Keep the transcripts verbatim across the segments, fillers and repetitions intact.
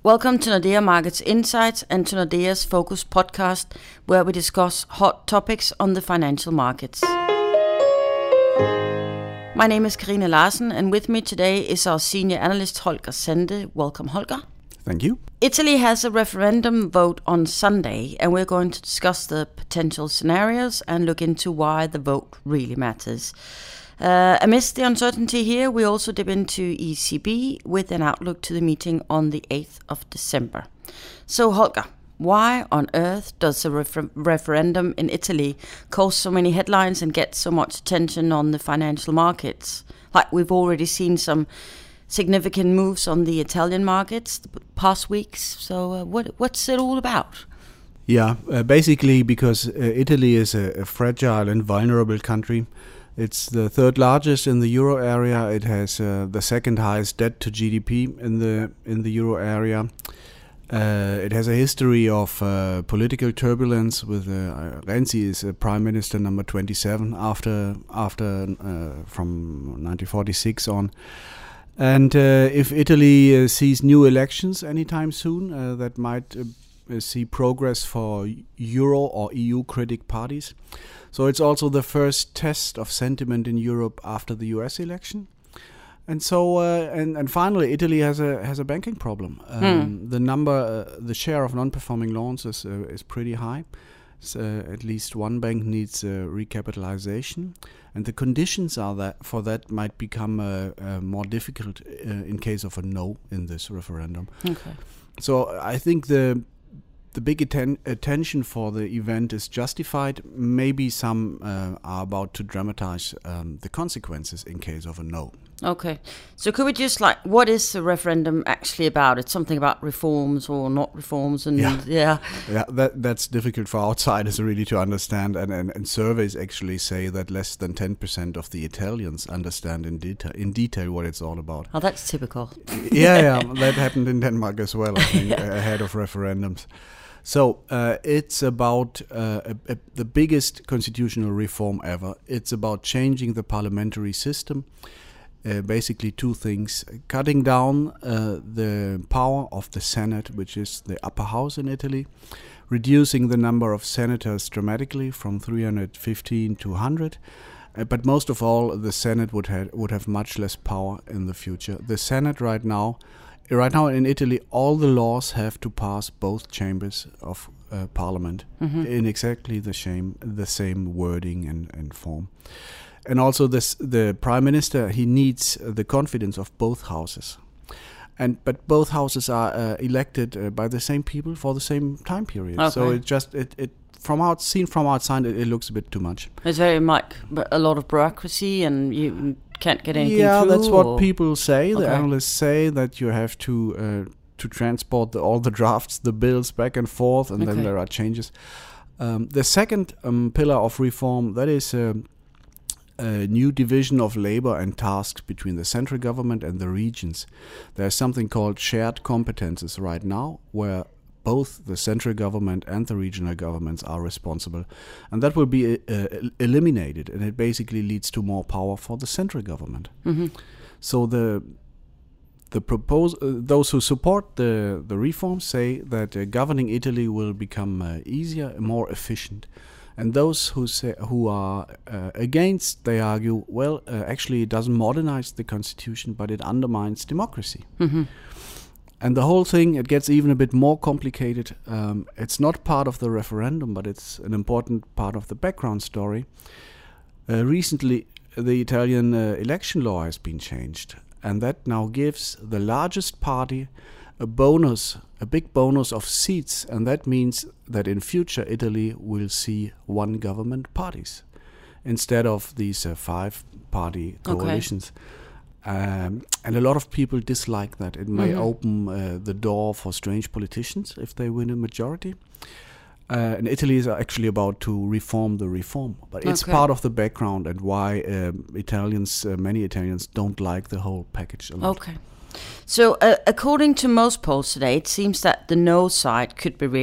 Welcome to Nordea Markets Insights and to Nordea's Focus podcast, where we discuss hot topics on the financial markets. My name is Karina Larsen, and with me today is our senior analyst Holger Sande. Welcome, Holger. Thank you. Italy has a referendum vote on Sunday, and we're going to discuss the potential scenarios and look into why the vote really matters. Uh, amidst the uncertainty here, we also dip into E C B with an outlook to the meeting on the eighth of December. So, Holger, why on earth does a refer- referendum in Italy cause so many headlines and get so much attention on the financial markets? Like, we've already seen some significant moves on the Italian markets the past weeks. So uh, what what's it all about? Yeah, uh, basically because uh, Italy is a, a fragile and vulnerable country. It's the third largest in the euro area. It has uh, the second highest debt to G D P in the in the euro area. Uh, it has a history of uh, political turbulence. With uh, Renzi is uh, prime minister number twenty-seven after after uh, from nineteen forty-six on. And uh, if Italy uh, sees new elections anytime soon, uh, that might uh, see progress for Euro or E U critic parties. So it's also the first test of sentiment in Europe after the U S election. And so, uh, and and finally, Italy has a has a banking problem. Um, hmm. The number, uh, the share of non-performing loans is uh, is pretty high. So at least one bank needs uh, recapitalization, and the conditions are that for that might become uh, uh, more difficult uh, in case of a no in this referendum. Okay. So I think the the big atten- attention for the event is justified. Maybe some uh, are about to dramatize um, the consequences in case of a no. Okay. So could we just like, what is the referendum actually about? It's something about reforms or not reforms, and yeah, yeah, yeah that that's difficult for outsiders really to understand. And, and, and surveys actually say that less than ten percent of the Italians understand in detail in detail what it's all about. Oh, that's typical. yeah, yeah, that happened in Denmark as well, I think, yeah. ahead of referendums. So uh, it's about uh, a, a, the biggest constitutional reform ever. It's about changing the parliamentary system. Uh, basically two things: cutting down uh, the power of the Senate, which is the upper house in Italy, reducing the number of senators dramatically from three hundred fifteen to one hundred. Uh, but most of all, the Senate would have would have much less power in the future. The Senate right now. Right now in Italy, all the laws have to pass both chambers of uh, parliament mm-hmm. in exactly the same the same wording and, and form. And also this, the prime minister, he needs the confidence of both houses. And but both houses are uh, elected uh, by the same people for the same time period. Okay. So it just it, it from out seen from outside it, it looks a bit too much. It's very much a lot of bureaucracy, and you can't get anything yeah, through. Yeah, that's or? what people say. Okay. The analysts say that you have to uh, to transport the, all the drafts, the bills back and forth, and okay. then there are changes. Um, the second um, pillar of reform, that is uh, a new division of labor and tasks between the central government and the regions. There's something called shared competences right now, where both the central government and the regional governments are responsible, and that will be uh, eliminated, and it basically leads to more power for the central government. Mm-hmm. So the the propose uh, those who support the the reforms say that uh, governing Italy will become uh, easier and more efficient, and those who say who are uh, against, they argue, well, uh, actually it doesn't modernize the constitution, but it undermines democracy. Mm-hmm. And the whole thing, it gets even a bit more complicated. Um, it's not part of the referendum, but it's an important part of the background story. Uh, recently, the Italian uh, election law has been changed, and that now gives the largest party a bonus, a big bonus of seats, and that means that in future Italy will see one government parties instead of these uh, five-party coalitions. Okay. Um, and a lot of people dislike that. It may mm-hmm. open uh, the door for strange politicians if they win a majority. Uh, and Italy is actually about to reform the reform. But it's okay. part of the background and why um, Italians, uh, many Italians don't like the whole package a lot. Okay. So uh, according to most polls today, it seems that the no side could be re-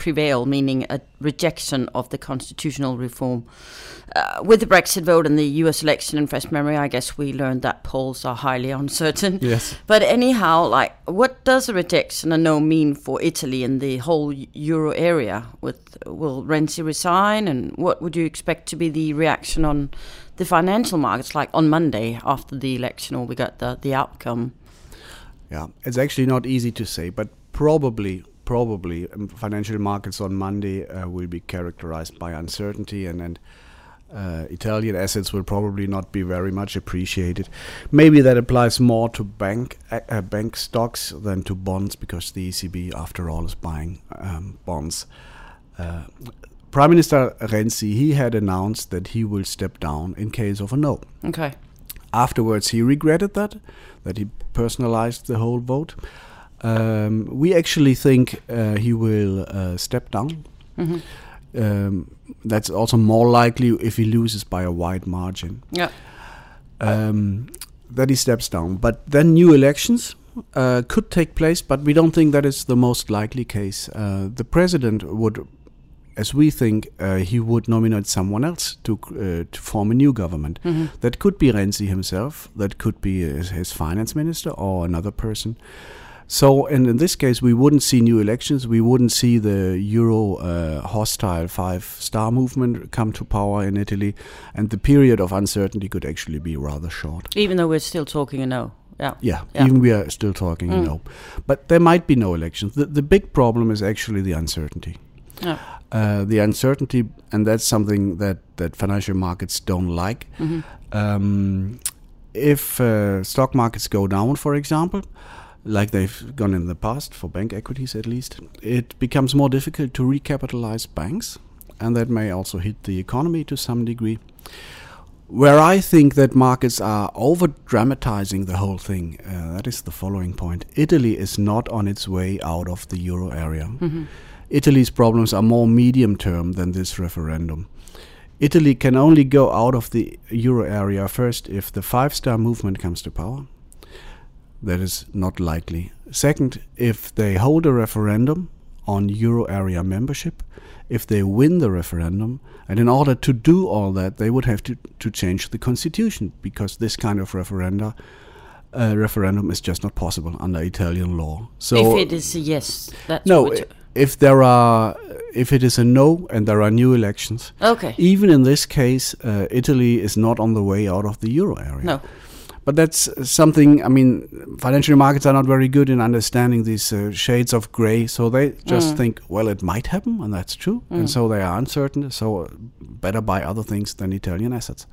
prevail, meaning a rejection of the constitutional reform. Uh, with the Brexit vote and the U S election in fresh memory, I guess we learned that polls are highly uncertain. Yes. But anyhow, like, what does a rejection a no mean for Italy and the whole euro area? With will Renzi resign, and what would you expect to be the reaction on the financial markets, like on Monday after the election, or we got the the outcome? Yeah, it's actually not easy to say, but probably. Probably um, financial markets on Monday uh, will be characterized by uncertainty, and, and uh, Italian assets will probably not be very much appreciated. Maybe that applies more to bank uh, bank stocks than to bonds, because the E C B, after all, is buying um, bonds. Uh, Prime Minister Renzi, he had announced that he will step down in case of a no. Okay. Afterwards, he regretted that, that he personalized the whole vote. Um, we actually think uh, he will uh, step down. Mm-hmm. Um, that's also more likely if he loses by a wide margin. Yeah. Um, that he steps down. But then new elections uh, could take place, but we don't think that is the most likely case. Uh, the president would, as we think, uh, he would nominate someone else to uh, to form a new government. Mm-hmm. That could be Renzi himself. That could be his, his finance minister or another person. So, and in this case, we wouldn't see new elections. We wouldn't see the Euro uh, hostile five-star movement come to power in Italy, and the period of uncertainty could actually be rather short. Even though we're still talking a no. Yeah. Yeah, yeah. Even we are still talking mm. a no. But there might be no elections. The, the big problem is actually the uncertainty. Yeah. Uh, the uncertainty, and that's something that, that financial markets don't like. Mm-hmm. Um, if uh, stock markets go down, for example, like they've gone in the past, for bank equities at least, it becomes more difficult to recapitalize banks, and that may also hit the economy to some degree. Where I think that markets are over-dramatizing the whole thing, uh, that is the following point. Italy is not on its way out of the euro area. Mm-hmm. Italy's problems are more medium-term than this referendum. Italy can only go out of the euro area first if the five-star movement comes to power. That is not likely. Second, if they hold a referendum on euro area membership, if they win the referendum, and in order to do all that, they would have to, to change the constitution, because this kind of referenda, uh, referendum is just not possible under Italian law. So if it is a yes, that's no. what If there are, if it is a no and there are new elections, okay. Even in this case, uh, Italy is not on the way out of the euro area. No. But that's something, I mean, financial markets are not very good in understanding these uh, shades of gray. So they just mm. think, well, it might happen, and that's true. Mm. And so they are uncertain. So better buy other things than Italian assets.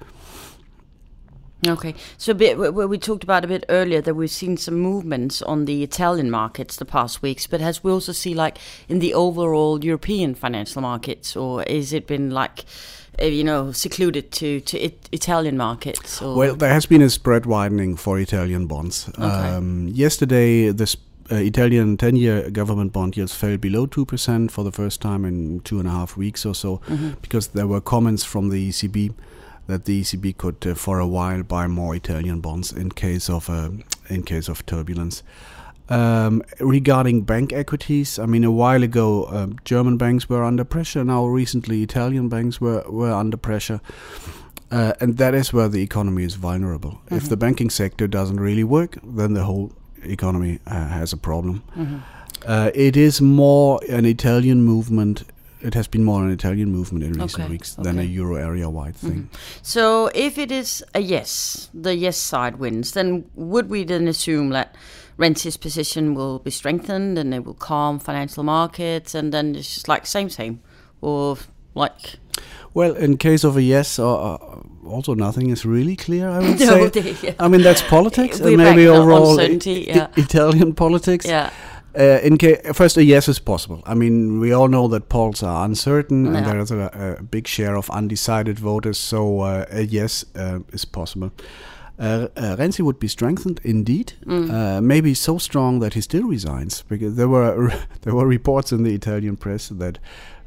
Okay. So a bit, we talked about a bit earlier that we've seen some movements on the Italian markets the past weeks. But has we also see, like, in the overall European financial markets, or is it been like... Uh, you know, secluded to, to it, Italian markets? Or? Well, there has been a spread widening for Italian bonds. Okay. Um, yesterday, the uh, Italian ten-year government bond yields fell below two percent for the first time in two and a half weeks or so, mm-hmm. because there were comments from the E C B that the E C B could, uh, for a while, buy more Italian bonds in case of uh, in case of turbulence. Um, regarding bank equities, I mean, a while ago, uh, German banks were under pressure. Now, recently, Italian banks were, were under pressure. Uh, and that is where the economy is vulnerable. Mm-hmm. If the banking sector doesn't really work, then the whole economy uh, has a problem. Mm-hmm. Uh, it is more an Italian movement. It has been more an Italian movement in recent okay. weeks than okay. a euro area-wide thing. Mm-hmm. So if it is a yes, the yes side wins, then would we then assume that Renzi's position will be strengthened and it will calm financial markets, and then it's just like same same, or like? Well, in case of a yes, uh, also nothing is really clear, I would no, say. they, yeah. I mean, that's politics, We're and maybe overall I- yeah. I- Italian politics. Yeah. Uh, in ca- first, a yes is possible. I mean, we all know that polls are uncertain, yeah. and there is a, a big share of undecided voters, so uh, a yes uh, is possible. Uh, uh, Renzi would be strengthened indeed, mm. uh, maybe so strong that he still resigns, because there were there were reports in the Italian press that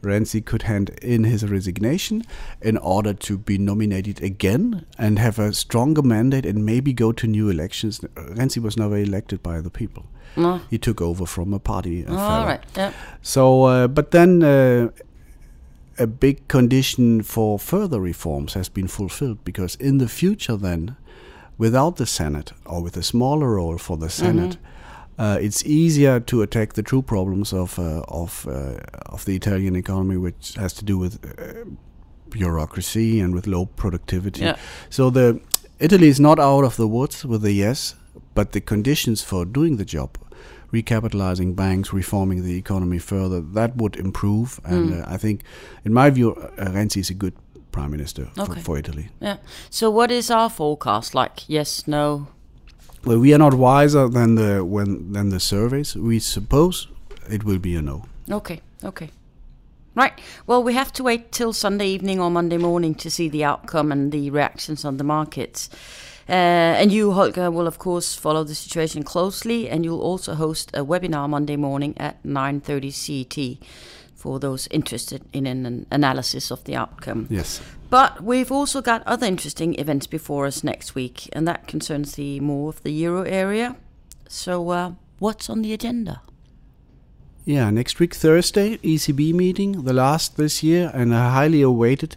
Renzi could hand in his resignation in order to be nominated again and have a stronger mandate and maybe go to new elections. Renzi was never elected by the people. No. He took over from a party. Oh, all right. Yeah. So, uh, but then uh, a big condition for further reforms has been fulfilled, because in the future then, without the Senate or with a smaller role for the Senate, mm-hmm. uh, it's easier to attack the true problems of uh, of uh, of the Italian economy, which has to do with uh, bureaucracy and with low productivity. Yeah. So the Italy is not out of the woods with a yes, but the conditions for doing the job, recapitalizing banks, reforming the economy further, that would improve. And mm. uh, I think, in my view, uh, Renzi is a good prime minister okay. for, for Italy. Yeah. So what is our forecast like? Yes, no? Well, we are not wiser than the when than the surveys. We suppose it will be a no. Okay, okay. Right. Well, we have to wait till Sunday evening or Monday morning to see the outcome and the reactions on the markets. Uh, and you, Holger, will of course follow the situation closely, and you'll also host a webinar Monday morning at nine thirty C E T for those interested in an analysis of the outcome. Yes. But we've also got other interesting events before us next week, and that concerns the more of the euro area. So uh, what's on the agenda? Yeah, next week, Thursday, E C B meeting, the last this year, and a highly awaited.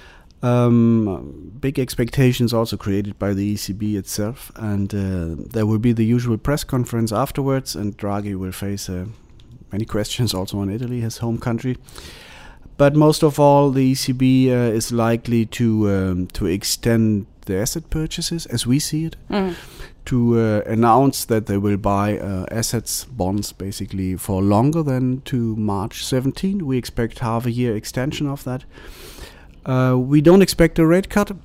Um, big expectations also created by the E C B itself, and uh, there will be the usual press conference afterwards, and Draghi will face uh, many questions also on Italy, his home country. But most of all, the E C B uh, is likely to um, to extend the asset purchases, as we see it, mm. to uh, announce that they will buy uh, assets, bonds, basically for longer than to March seventeenth. We expect half a year extension of that. Uh, we don't expect a rate cut.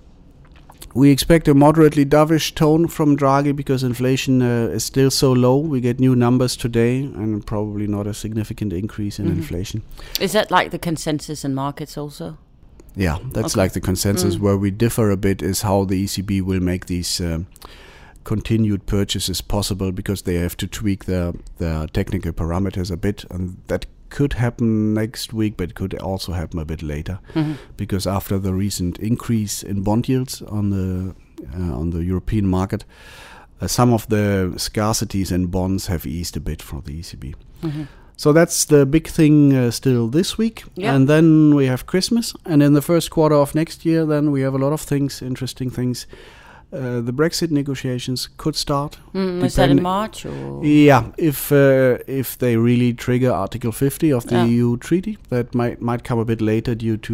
We expect a moderately dovish tone from Draghi because inflation uh, is still so low. We get new numbers today and probably not a significant increase in mm-hmm. inflation. Is that like the consensus in markets also? Yeah, that's okay. Like the consensus. Mm. Where we differ a bit is how the E C B will make these um, continued purchases possible, because they have to tweak their, their technical parameters a bit, and that could happen next week, but it could also happen a bit later, mm-hmm. because after the recent increase in bond yields on the uh, on the European market, uh, some of the scarcities in bonds have eased a bit for the E C B. Mm-hmm. So that's the big thing uh, still this week, yeah. And then we have Christmas, and in the first quarter of next year, then we have a lot of things, interesting things. Uh, the Brexit negotiations could start. Mm, is that in March? Or? Yeah, if uh, if they really trigger Article fifty of the yeah. E U treaty, that might might come a bit later due to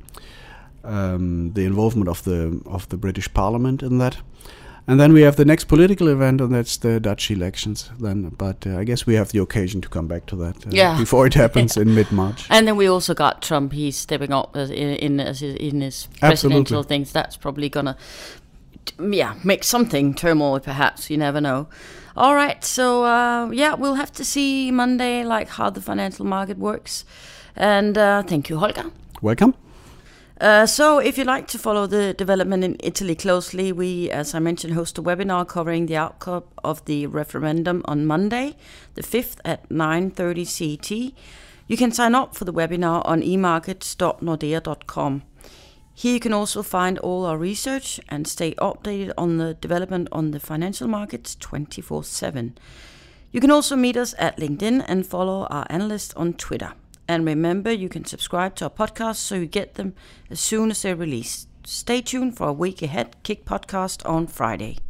uh, um, the involvement of the of the British Parliament in that. And then we have the next political event, and that's the Dutch elections. Then, but uh, I guess we have the occasion to come back to that uh, yeah. before it happens in mid-March. And then we also got Trump. He's stepping up as in in, as in his presidential Absolutely. things. That's probably gonna. Yeah, make something turmoil, perhaps. You never know. All right, so uh, yeah, we'll have to see Monday, like how the financial market works. And uh, thank you, Holger. Welcome. Uh, so if you'd like to follow the development in Italy closely, we, as I mentioned, host a webinar covering the outcome of the referendum on Monday, the fifth at nine thirty C E T. You can sign up for the webinar on e markets dot nordea dot com. Here you can also find all our research and stay updated on the development on the financial markets twenty-four seven. You can also meet us at LinkedIn and follow our analysts on Twitter. And remember, you can subscribe to our podcast so you get them as soon as they're released. Stay tuned for a week ahead Kick podcast on Friday.